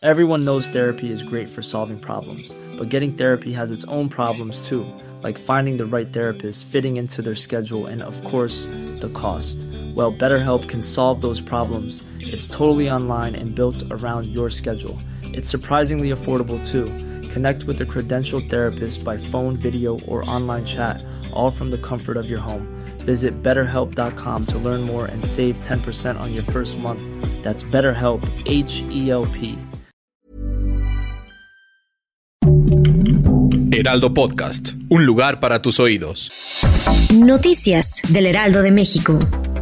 Everyone knows therapy is great for solving problems, but getting therapy has its own problems too, like finding the right therapist, fitting into their schedule, and of course, the cost. Well, BetterHelp can solve those problems. It's totally online and built around your schedule. It's surprisingly affordable too. Connect with a credentialed therapist by phone, video, or online chat, all from the comfort of your home. Visit BetterHelp.com to learn more and save 10% on your first month. That's BetterHelp, H-E-L-P. Heraldo Podcast, un lugar para tus oídos. Noticias del Heraldo de México.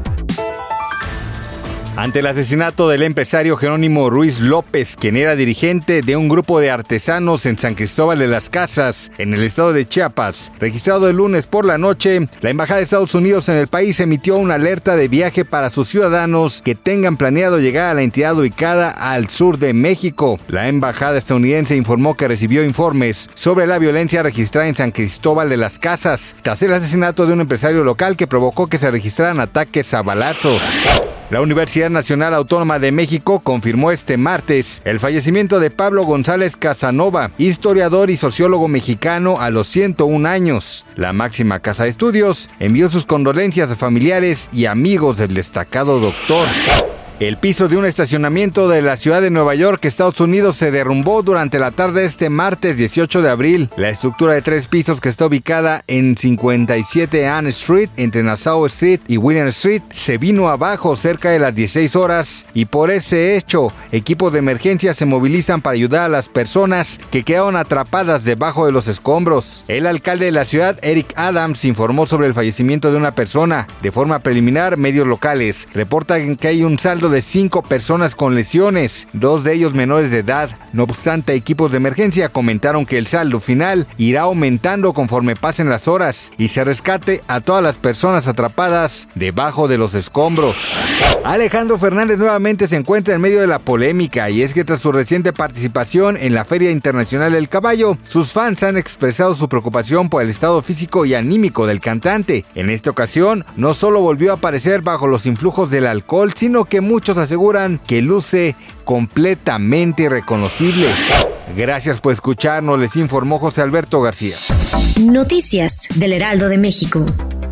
Ante el asesinato del empresario Jerónimo Ruiz López, quien era dirigente de un grupo de artesanos en San Cristóbal de las Casas, en el estado de Chiapas, registrado el lunes por la noche, la Embajada de Estados Unidos en el país emitió una alerta de viaje para sus ciudadanos que tengan planeado llegar a la entidad ubicada al sur de México. La Embajada estadounidense informó que recibió informes sobre la violencia registrada en San Cristóbal de las Casas, tras el asesinato de un empresario local que provocó que se registraran ataques a balazos. La Universidad Nacional Autónoma de México confirmó este martes el fallecimiento de Pablo González Casanova, historiador y sociólogo mexicano a los 101 años. La máxima casa de estudios envió sus condolencias a familiares y amigos del destacado doctor. El piso de un estacionamiento de la ciudad de Nueva York, Estados Unidos, se derrumbó durante la tarde de este martes 18 de abril. La estructura de 3 pisos que está ubicada en 57 Ann Street, entre Nassau Street y William Street, se vino abajo cerca de las 16 horas y por ese hecho, equipos de emergencia se movilizan para ayudar a las personas que quedaron atrapadas debajo de los escombros. El alcalde de la ciudad, Eric Adams, informó sobre el fallecimiento de una persona. De forma preliminar, medios locales reportan que hay un saldo de 5 personas con lesiones, 2 de ellos menores de edad. No obstante, equipos de emergencia comentaron que el saldo final irá aumentando conforme pasen las horas y se rescate a todas las personas atrapadas debajo de los escombros. Alejandro Fernández nuevamente se encuentra en medio de la polémica, y es que tras su reciente participación en la Feria Internacional del Caballo, sus fans han expresado su preocupación por el estado físico y anímico del cantante. En esta ocasión, no solo volvió a aparecer bajo los influjos del alcohol, sino que muchos aseguran que luce completamente irreconocible. Gracias por escucharnos, les informó José Alberto García. Noticias del Heraldo de México.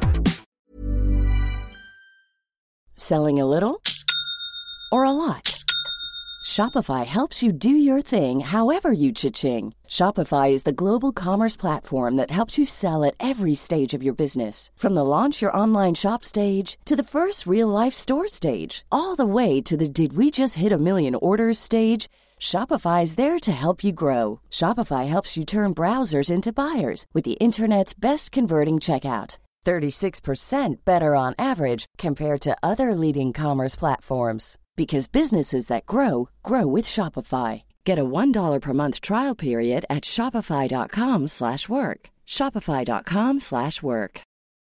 Selling a little or a lot? Shopify helps you do your thing however you cha-ching. Shopify is the global commerce platform that helps you sell at every stage of your business. From the launch your online shop stage to the first real-life store stage, all the way to the did we just hit a million orders stage. Shopify is there to help you grow. Shopify helps you turn browsers into buyers with the internet's best converting checkout. 36% better on average compared to other leading commerce platforms. Because businesses that grow, grow with Shopify. Get a $1 per month trial period at shopify.com/work. Shopify.com/work.